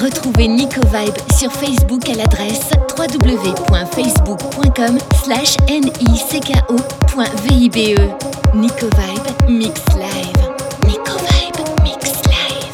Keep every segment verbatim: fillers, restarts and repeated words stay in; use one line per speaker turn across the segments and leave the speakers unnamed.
Retrouvez Nico Vibe sur Facebook à l'adresse w w w point facebook point com slash nico point vibe. Nico Vibe Mix Live. Nico Vibe Mix Live.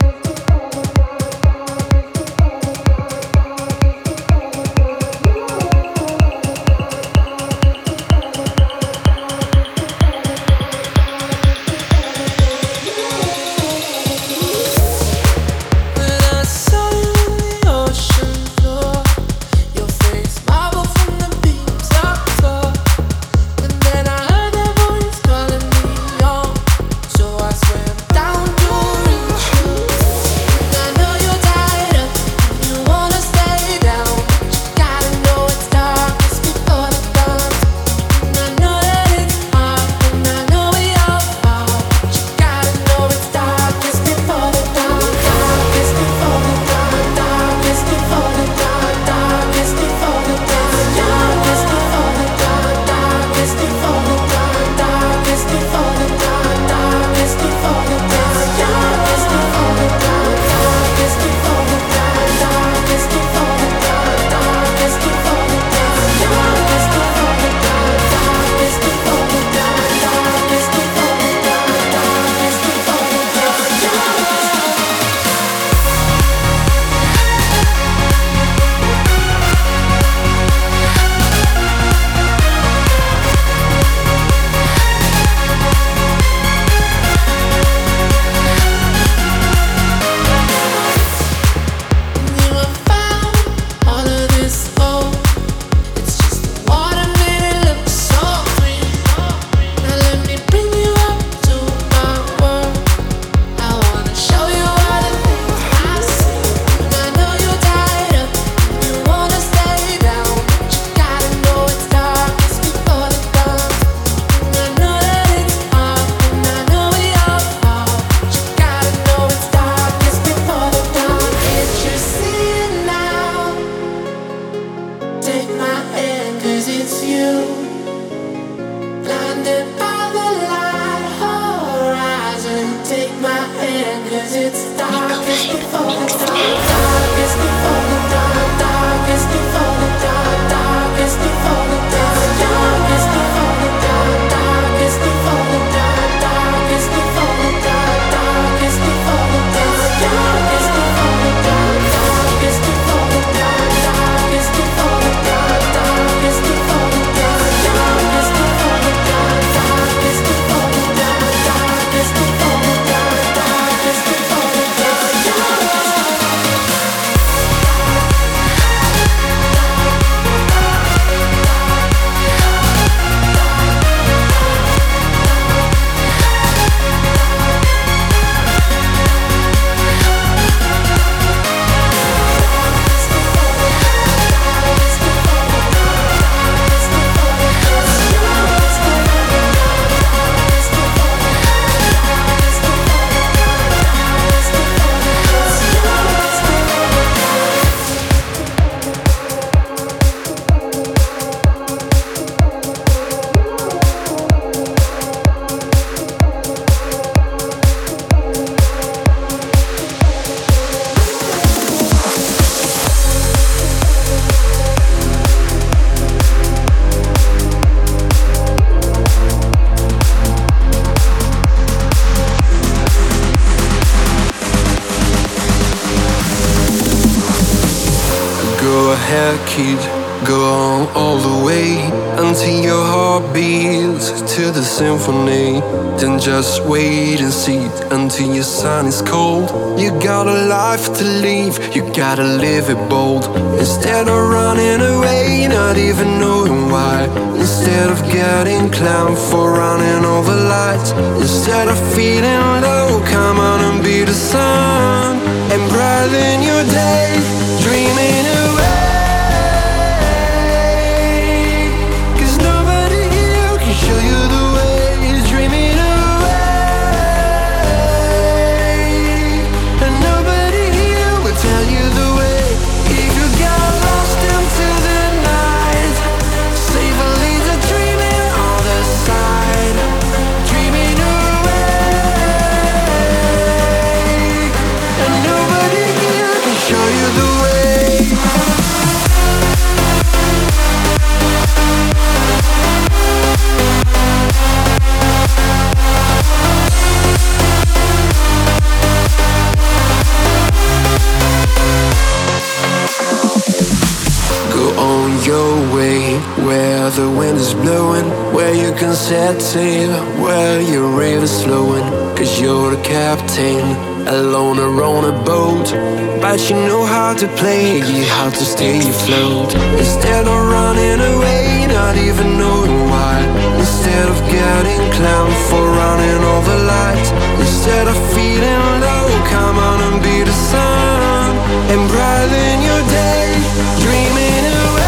Kid, go on all the way until your heart beats to the symphony. Then just wait and see until your sun is cold. You got a life to live, you gotta live it bold. Instead of running away, not even knowing why. Instead of getting clowned for running all the lights. Instead of feeling low, come on and be the sun and brighten your day, dreaming away. Show you the way, dreaming away, and nobody here will tell you the way. If you got lost into the night, safely to dreaming on the side, dreaming away. set sail where your river's flowing, cause you're the captain, alone or on a boat. But you know how to play, you how to stay afloat. Instead of running away, not even knowing why. Instead of getting clowned for running all the lights. Instead of feeling low, come on and be the sun and brighten your day, dreaming away.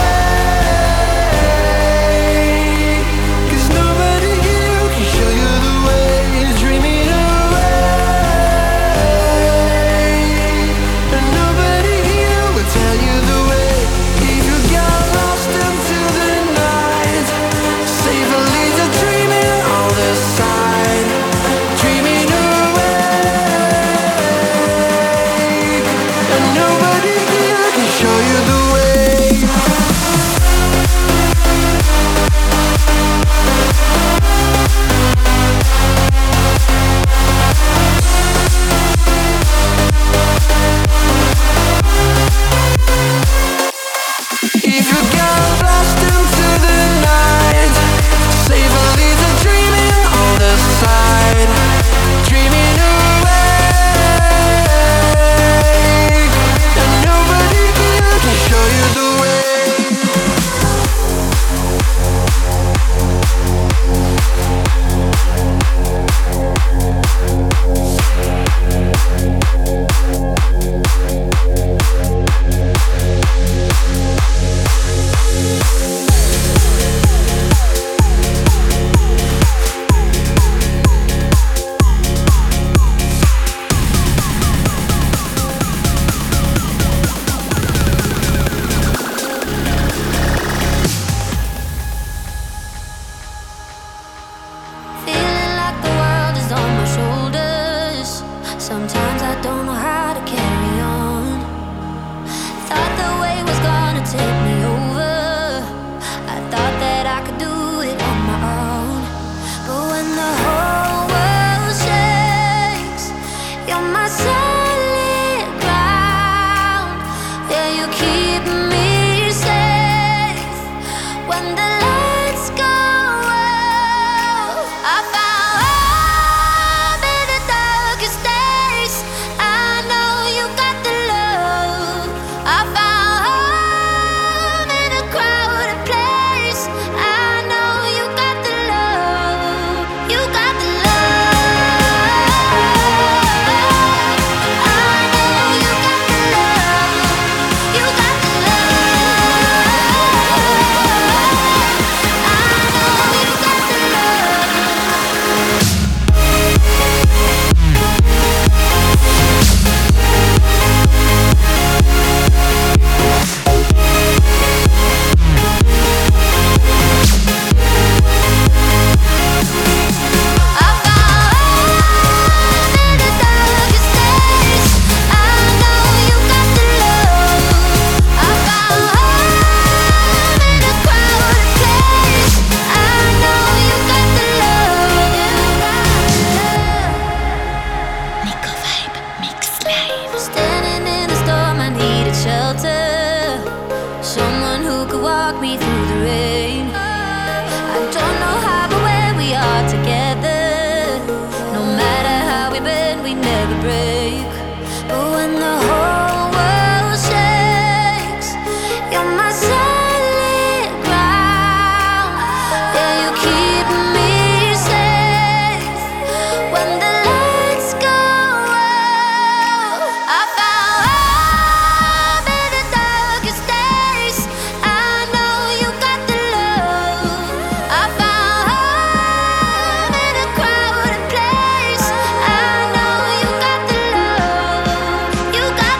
You got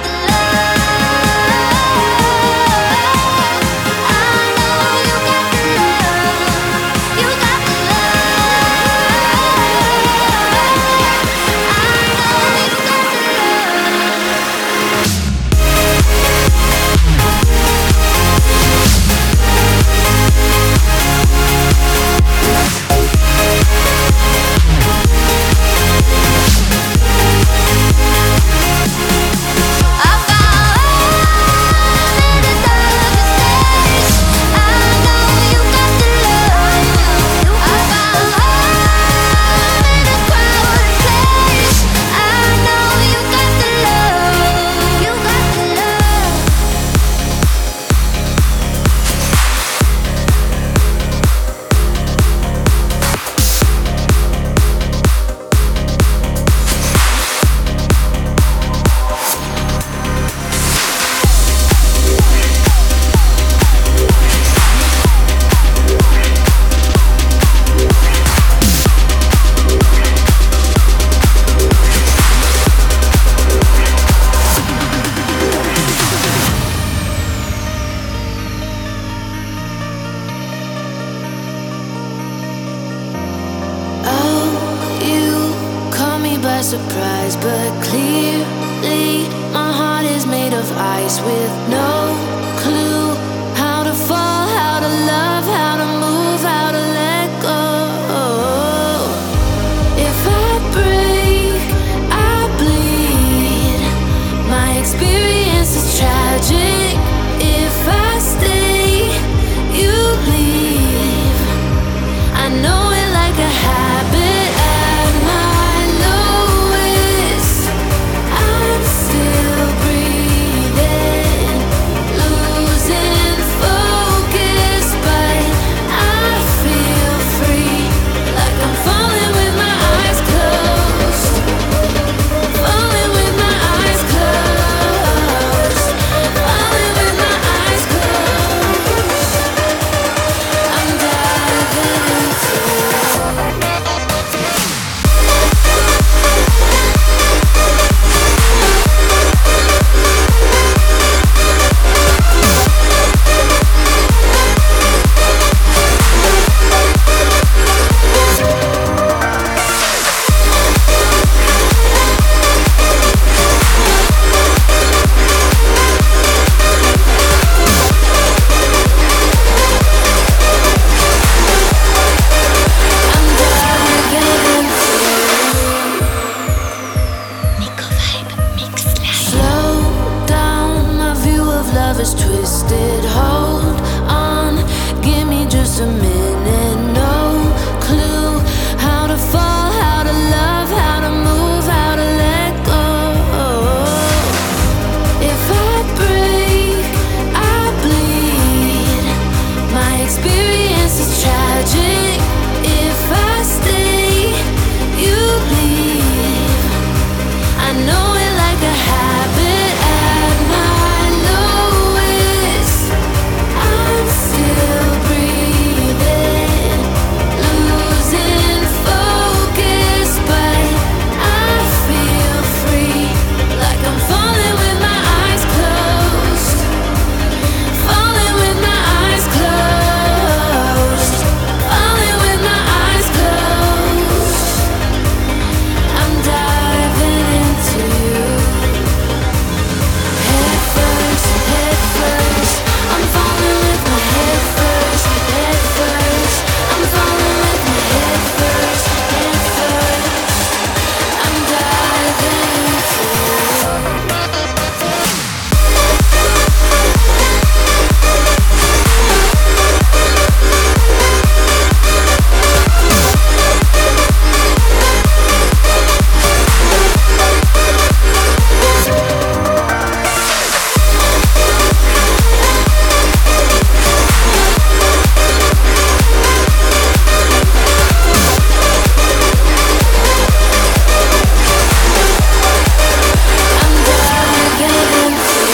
clearly. My heart is made of ice with no clue how to fall, how to love, how to move, how to let go. If I break, I bleed. My experience is tragic. If I stay, you leave. I know it like a habit. At my lowest, I'm still breathing, losing focus, but I feel free, like I'm falling with my eyes closed, falling with my eyes closed, falling with my eyes closed. I'm diving into
Nico Vibe Mix Live.
slow down, my view of love is twisted. Hold on, give me just a minute. No clue how to fall, how to love, how to move, how to let go. If I break, I bleed. My experience is tragic. If I stay, you leave. I know it like a habit. At my lowest, I'm still breathing, losing focus, but I feel free, like I'm falling with my eyes closed, falling with my eyes closed, falling with my eyes closed. I'm diving into you. Head first, head first. I'm falling with my head first, head first. I'm falling with my head first, head first. I'm diving into I'm diving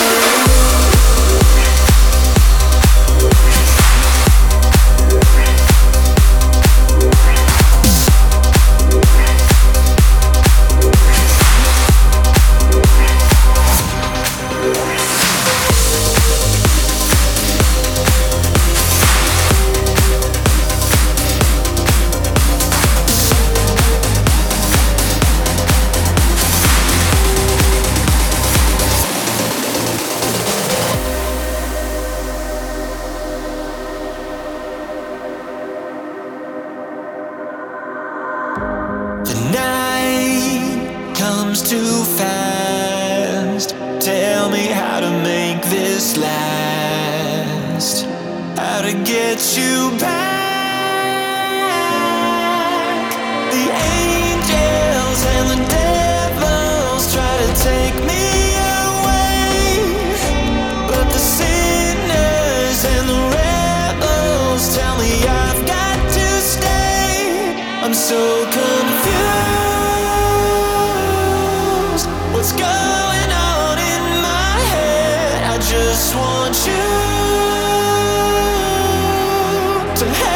The night comes too fast. Tell me how to make this last. How to get you back. The angels and the devils try to take me away, but the sinners and the rebels tell me I've got to stay. I'm so confused. What's going on in my head? I just want you to have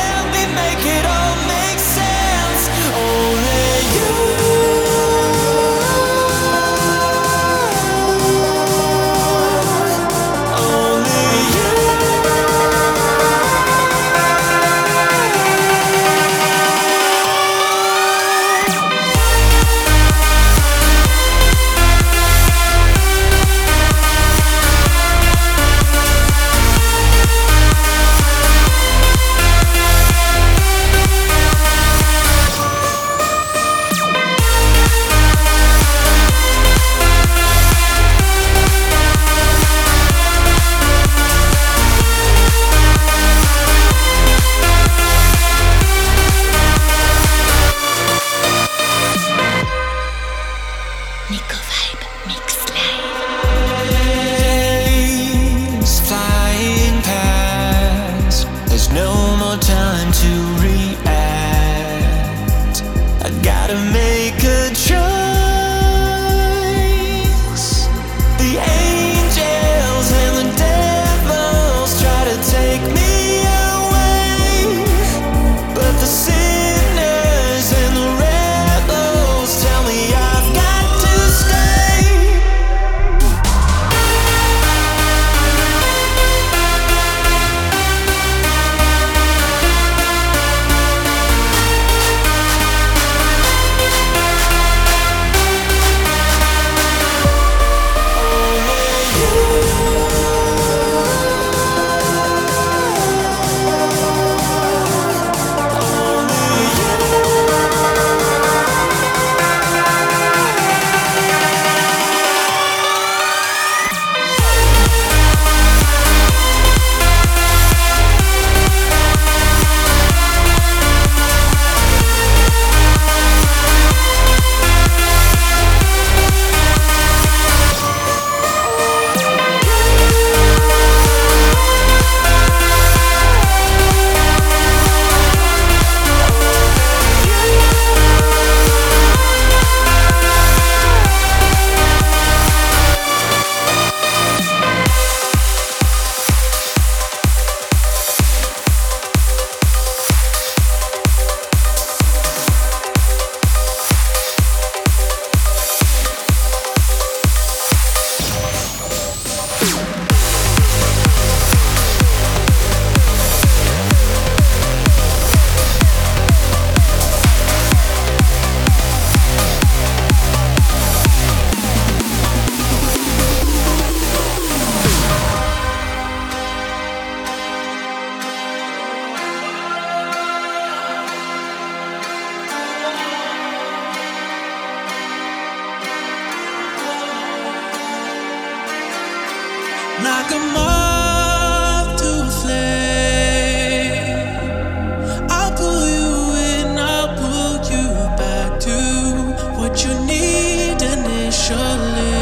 like a moth to a flame. I'll pull you in, I'll pull you back to what you need initially.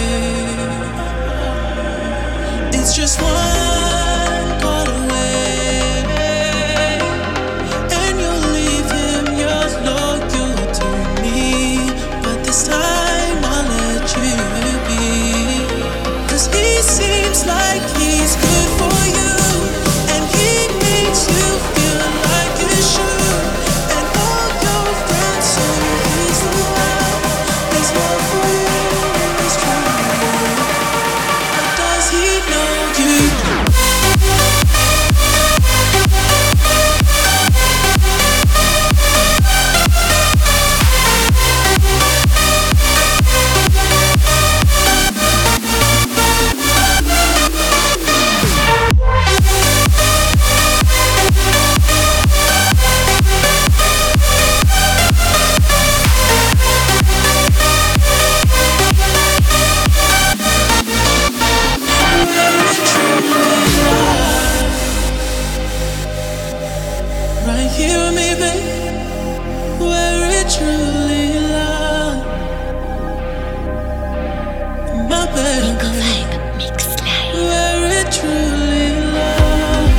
It's just one call away, and you'll leave him, you're loyal to me. But this time I'll let you be, 'cause he seems like he's good for you, and he makes you feel like you should. And all your friends say he's the one, he's more for you, he's true. But does he know you? Right here with me, babe, where it truly lies. My baby,
Nico Vibe Mix Live.
where it truly lies.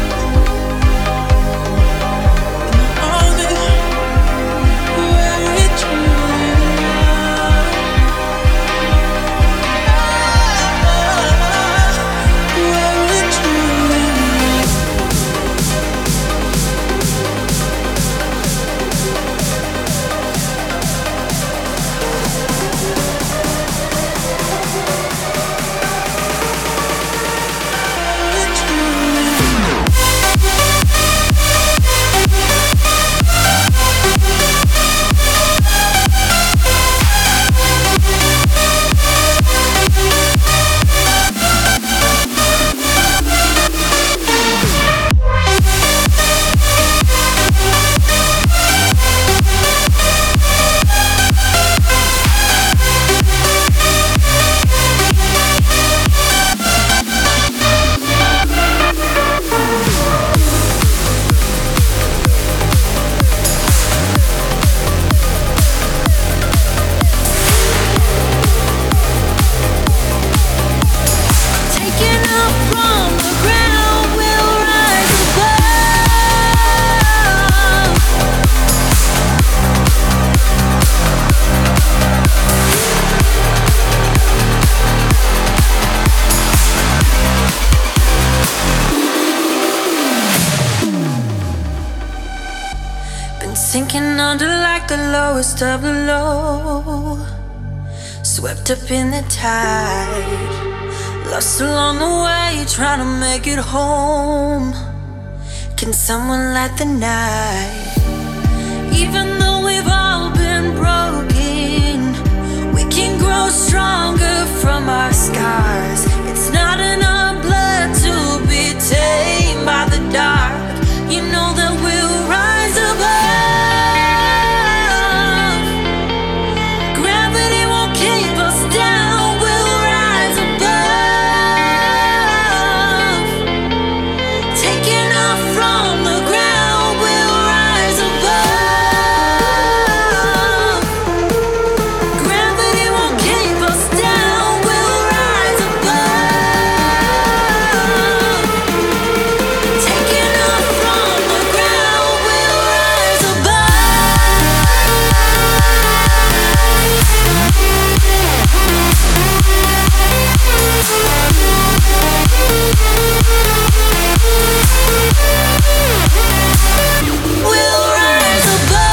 In my arms, where it truly lies. Where it truly lies. Taking off from the ground, we'll rise above. Been sinking under like the lowest of the low, swept up in the tide. Lost along the way, trying to make it home. Can someone light the night? Even though we've all been broken, we can grow stronger from our scars. It's not in our blood to be tamed by the dark. You know that we'll rise above. Gravity won't keep us down. We'll rise above. Taking off from the ground, we'll rise above. Gravity won't keep us down. We'll rise above. Taking off from the ground, we'll rise above. We'll rise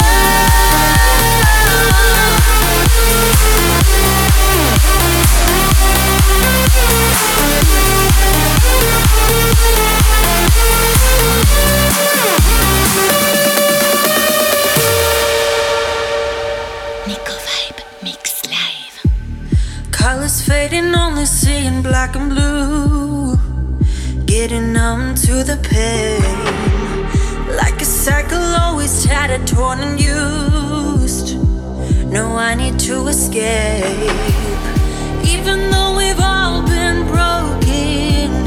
Nico Vibe Mix Live.
colors fading, only seeing black and blue. Getting numb to the pain, like a cycle always tattered, torn and used. No, I need to escape. Even though we've all been broken,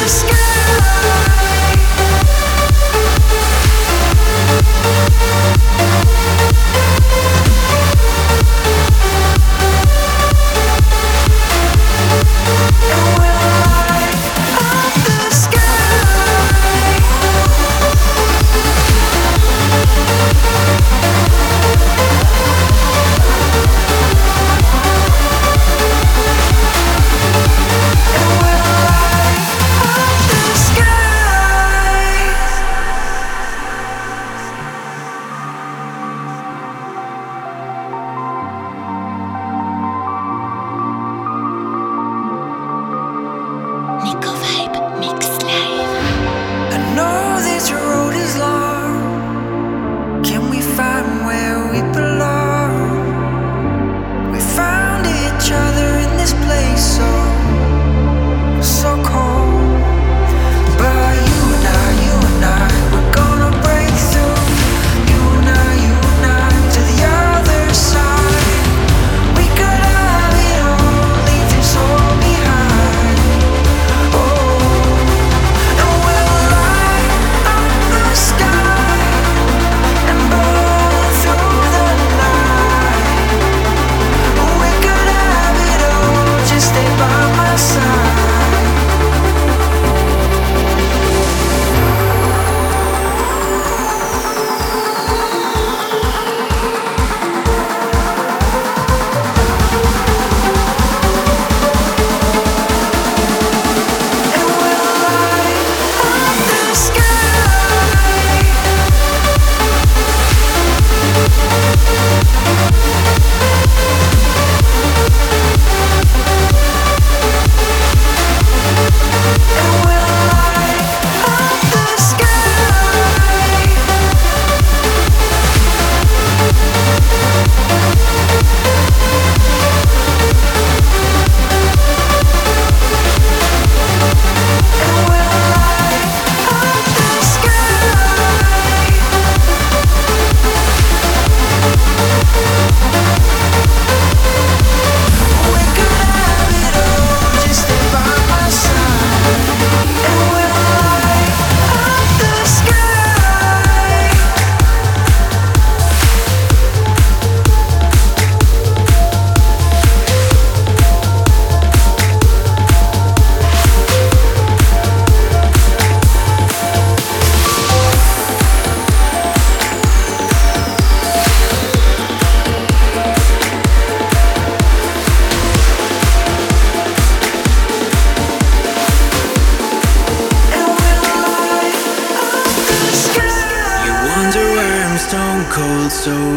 cold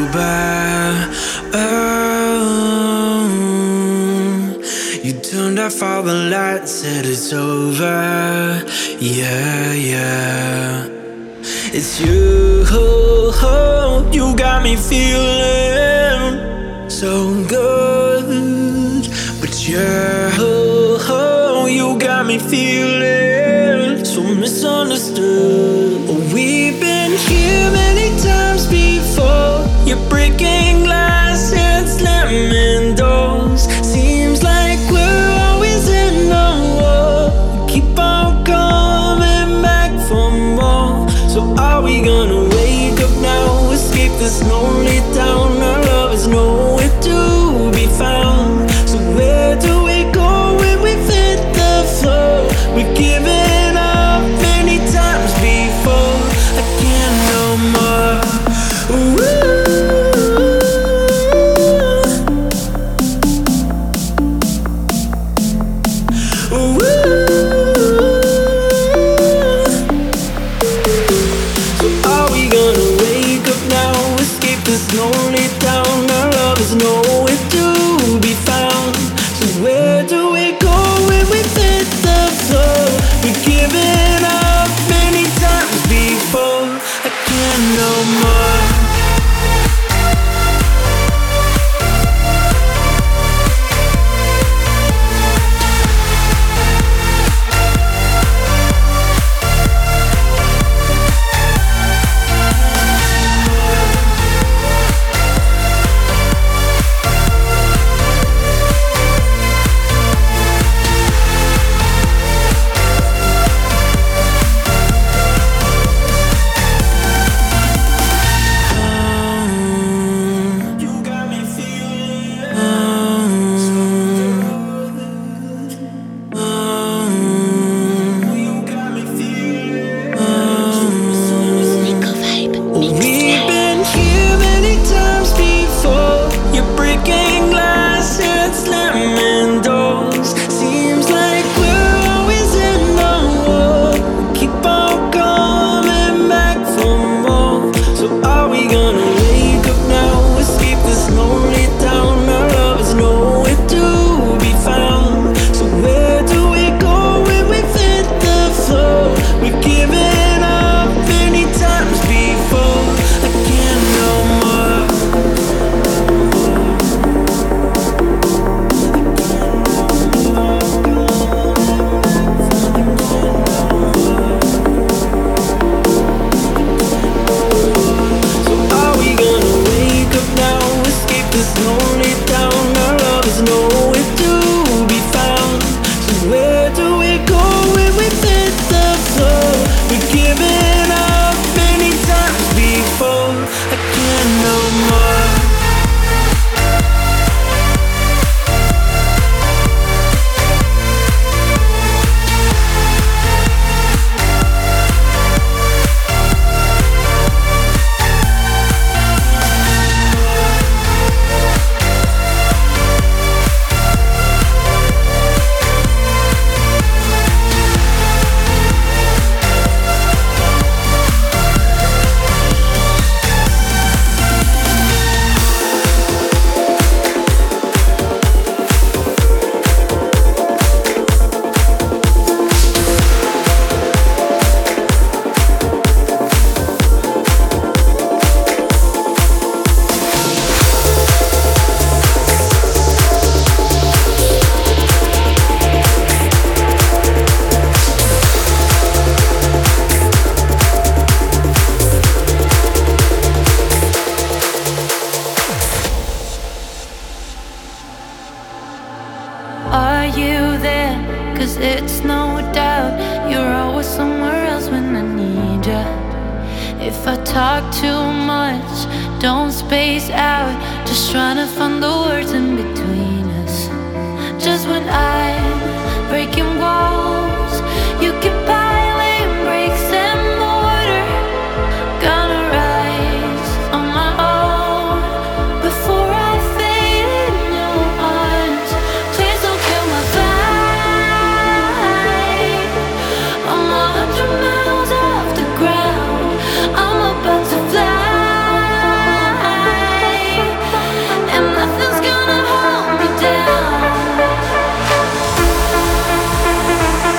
sober. Oh, you turned off all the lights, said it's over. Yeah, yeah. It's you, you got me feeling so good. But yeah, you got me feeling so misunderstood. We've been here many times before. You're breaking glass and slamming doors. Seems like we're always in a war. Keep on coming back for more. So are we gonna wake up now? Escape this lonely town. Our love is nowhere to be found. So where do we go when we've hit the floor? We've given up many times before. I can't no more. Ooh. Ooh. So are we gonna wake up now? Escape this lonely town. Our love is nowhere to be found. So where do we go when we hit the floor? We've given up many times before. I can't no more.
I talk too much, don't space out, just trying to find the words in between us. Just when I'm breaking walls, you keep piling bricks and mortar. Gonna rise on my own before I fade in your arms. Please don't kill my vibe. I'm a hundred miles off the ground. I'm about to fly, and nothing's gonna hold me down.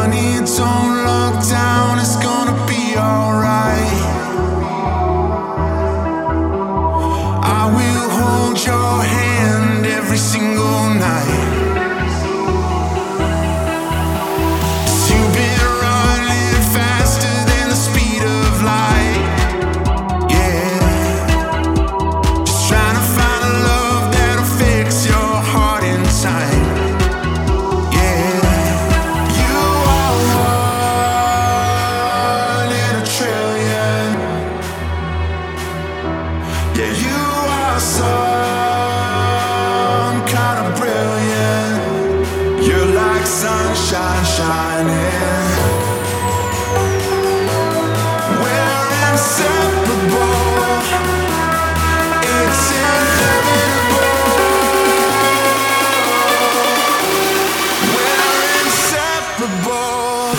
Funny, don't look down, it's gonna be alright. I will hold your hand every single night. Sunshine shining. We're inseparable. It's inevitable. We're inseparable.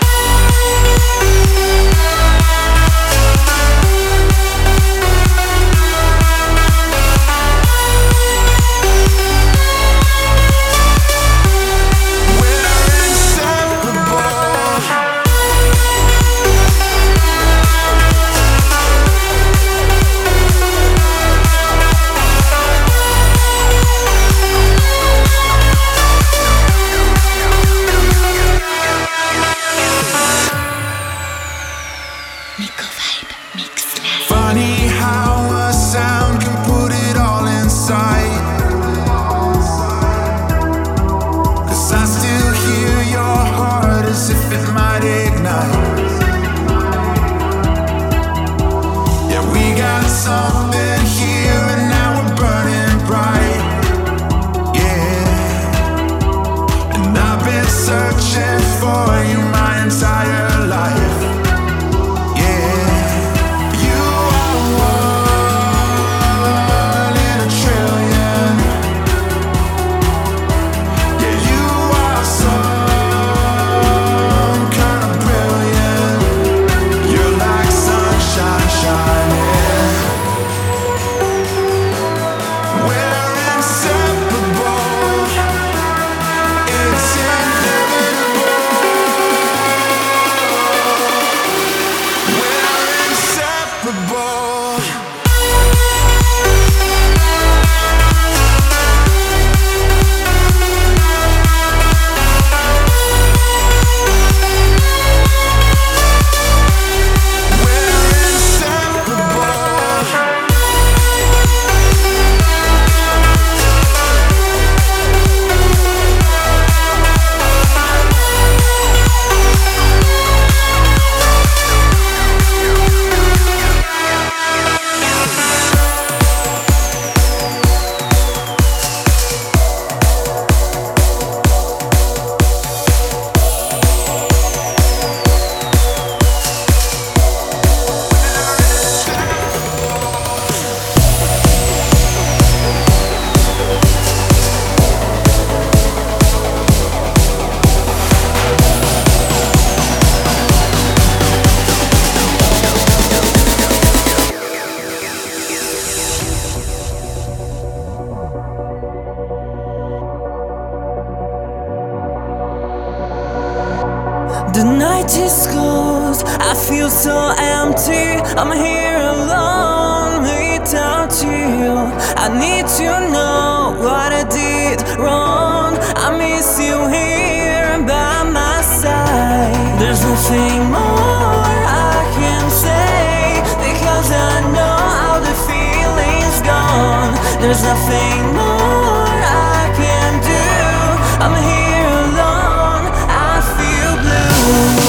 The night is closed, I feel so empty. I'm here alone without you. I need to know what I did wrong. I miss you here by my side. There's nothing more I can say, because I know how the feeling's gone. There's nothing more I can do. I'm here alone, I feel blue.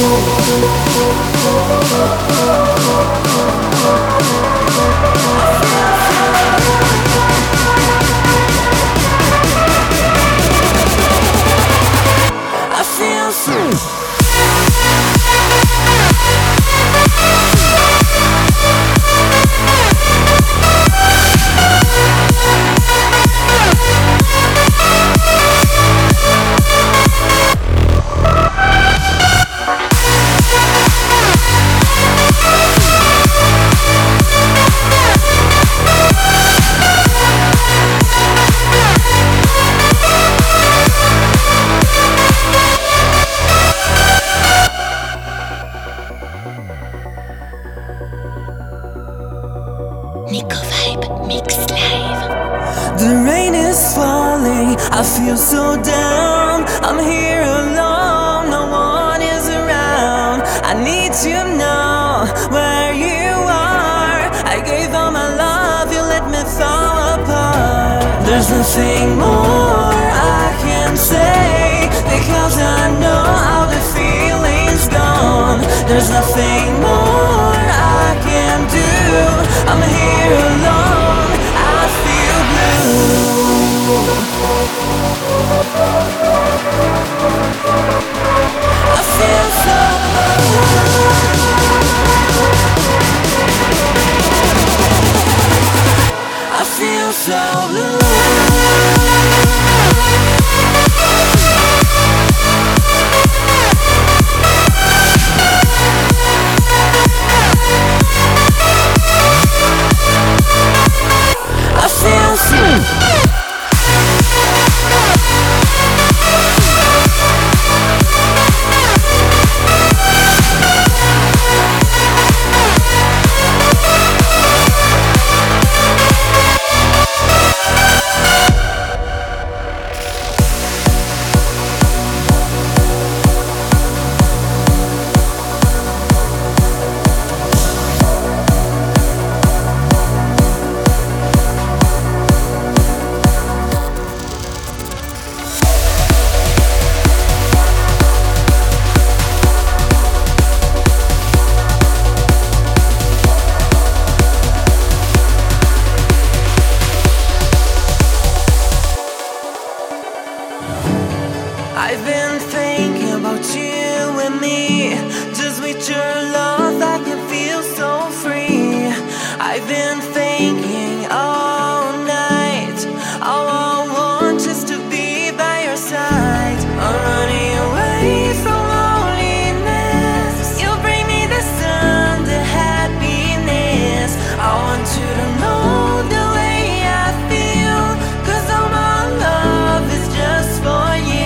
I feel so feel so down. I'm here alone, no one is around. I need to know where you are. I gave all my love, you let me fall apart. There's nothing more I can say, because I know how the feeling's gone. There's nothing more I can do. I'm here alone, I feel blue. I feel so blue. I feel so blue. I feel so I've been thinking about you and me. Just with your love I can feel so free. I've been thinking all night. All I want is to be by your side. I'm running away from loneliness. You bring me the sun, the happiness. I want you to know the way I feel, 'cause all my love is just for you.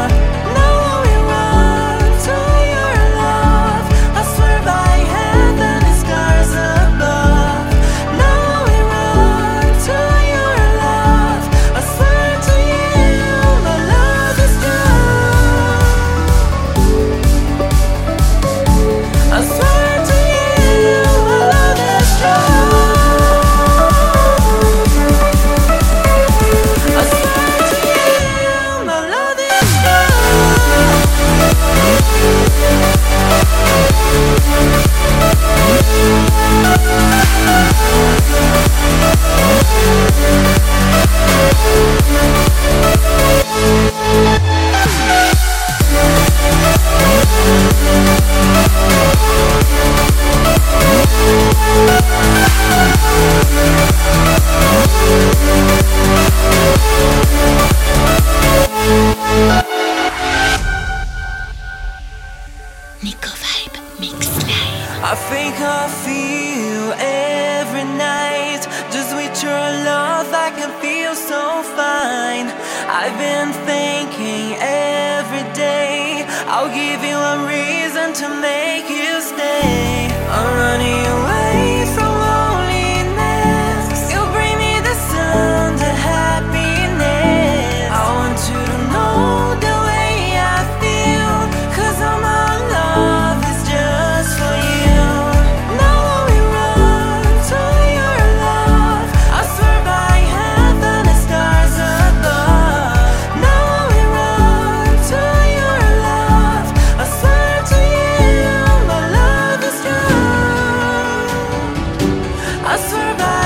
Nico Vibe Mix Live.
I think I feel every night. Just with your love I can feel so fine. I've been thinking every day. I'll give you a reason to make you stay. I'm running away from loneliness. You bring me the sun, the happiness. I want you to know the way I feel, 'cause all my love is just for you. Now we run to your love. I swear by heaven and stars above. Now we run to your love. I swear to you, my love is true. I swear by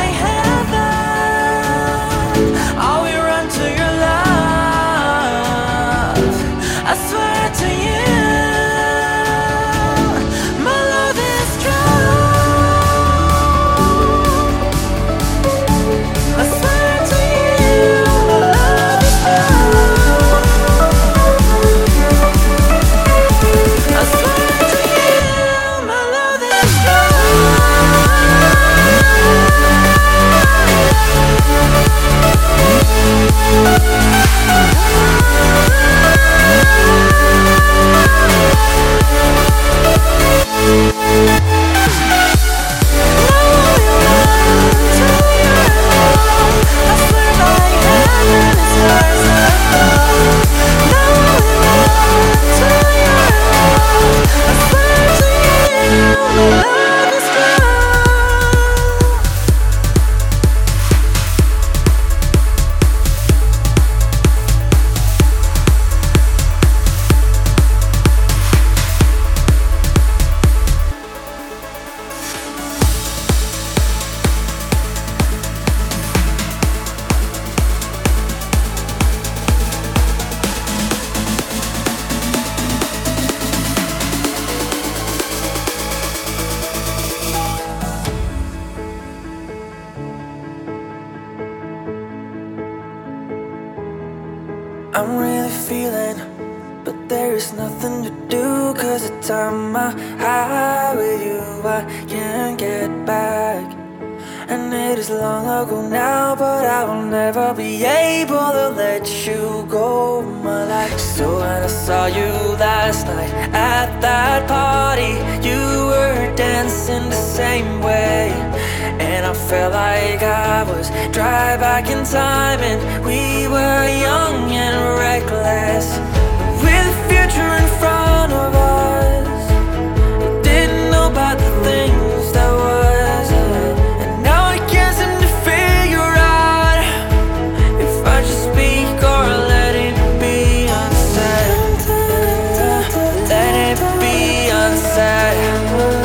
heaven, I will run to your love. I swear to you, my love is true. I swear to you, my love is true. I swear to you, my love is true. I'm really feeling, but there is nothing to do. Cause the time I high with you I can't get back. And it is long ago now, but I will never be able to let you go, my life. So when I saw you last night at that party, you were dancing the same way. And I felt like I was dry back in time, and we were young and reckless. With the future in front of us, didn't know about the things that wasn't. And now I can't seem to figure out if I should speak or let it be unsaid. Let it be unsaid.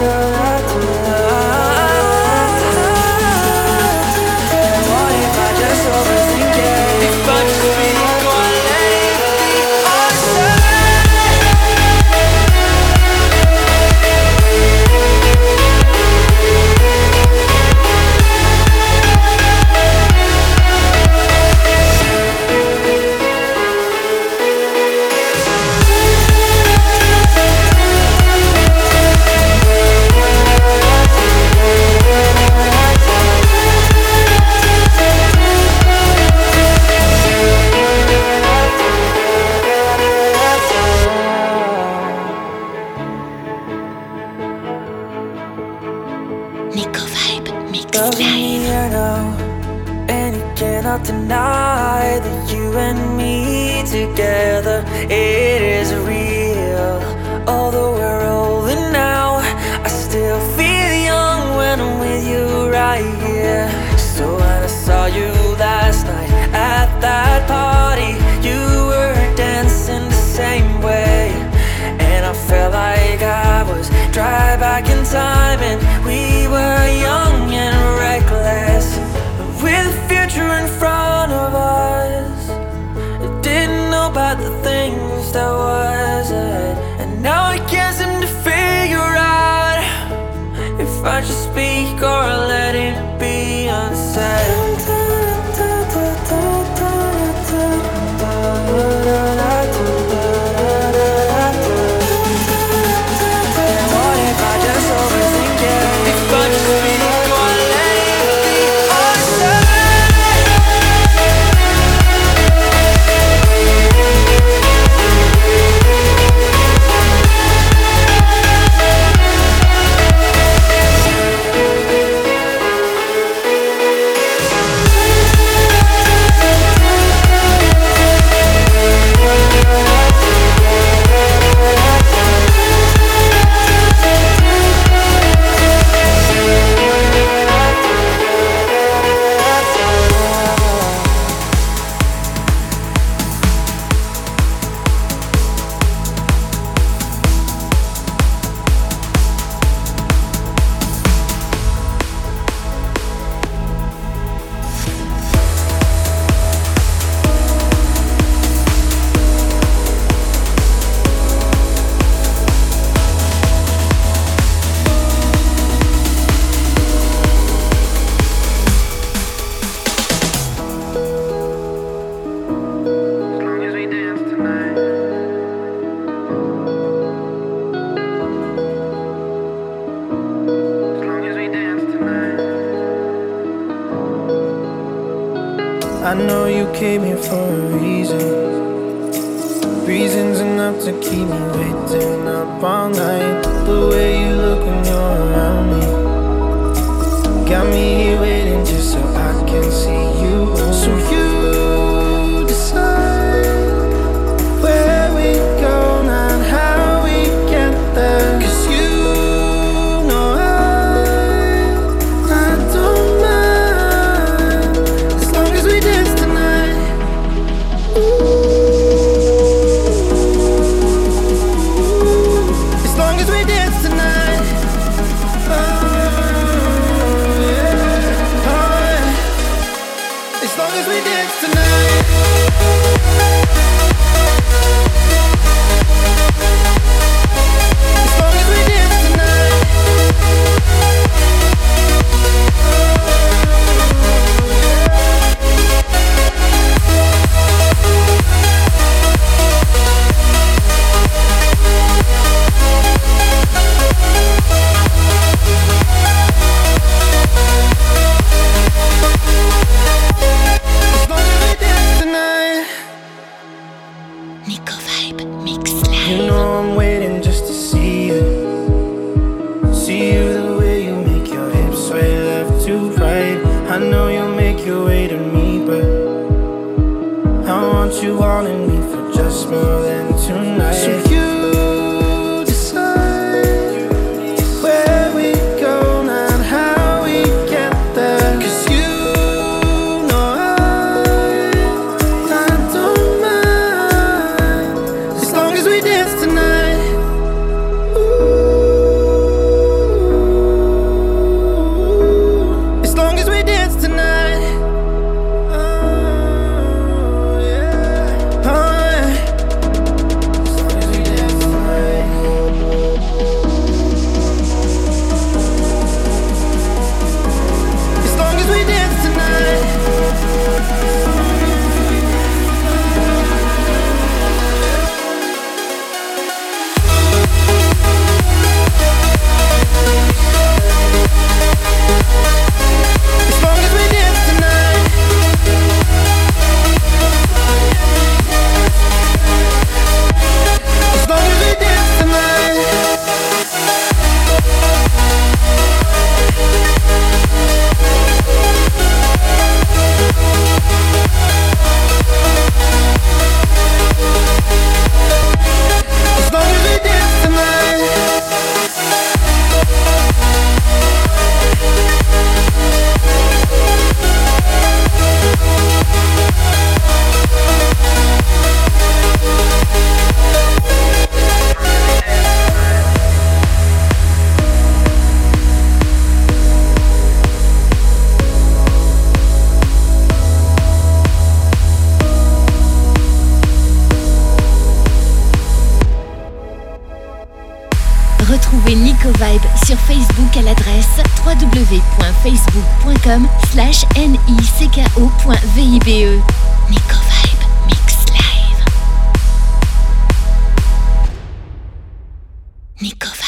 Deny that you and me together, it is real. Although we're older now, I still feel young when I'm with you right here. So when I saw you last night at that party, you were dancing the same way. And I felt like I was dry back in time, and we were young and reckless. With the future in front of us, I didn't know about the things that wasn't. And now I can't seem to figure out if I should speak or let it be unsaid. What if I just overthink it? If I just speak or let it be unsaid.
I know you came here for a reason. Reasons enough to keep me waiting up all night. The way you look when you're around me got me here waiting just so I can see you. So you decide where we go, not how we get there. Cause you know I, I don't mind as long as we dance tonight. Ooh. As long as we dance tonight. Oh, yeah. Oh, yeah. As long as we dance.
Nico Vibe Mix Live.
You know I'm waiting just to see you. See you the way you make your hips sway left to right. I know you'll make your way to me, but I want you all in me for just more than tonight. So you decide where we go, not how we get there. 'Cause you know I, I don't mind as long as we dance tonight. Ooh, as long as we dance tonight. Oh yeah, oh yeah. As long as we dance tonight. As long as we dance tonight. As long as we dance tonight. As long as we dance tonight. As long as we dance tonight.
Retrouvez Nico Vibe sur Facebook à l'adresse w w w point facebook point com slash nico point vibe. Nico Vibe Mix Live. Nico Vibe.